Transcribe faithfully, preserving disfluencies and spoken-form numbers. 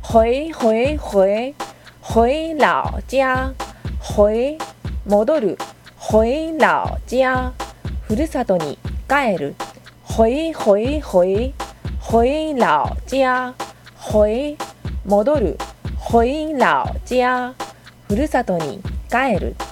回回回回老家回戻る回老家ふるさとに帰る回回回回老家回戻る回老家ふるさとに帰る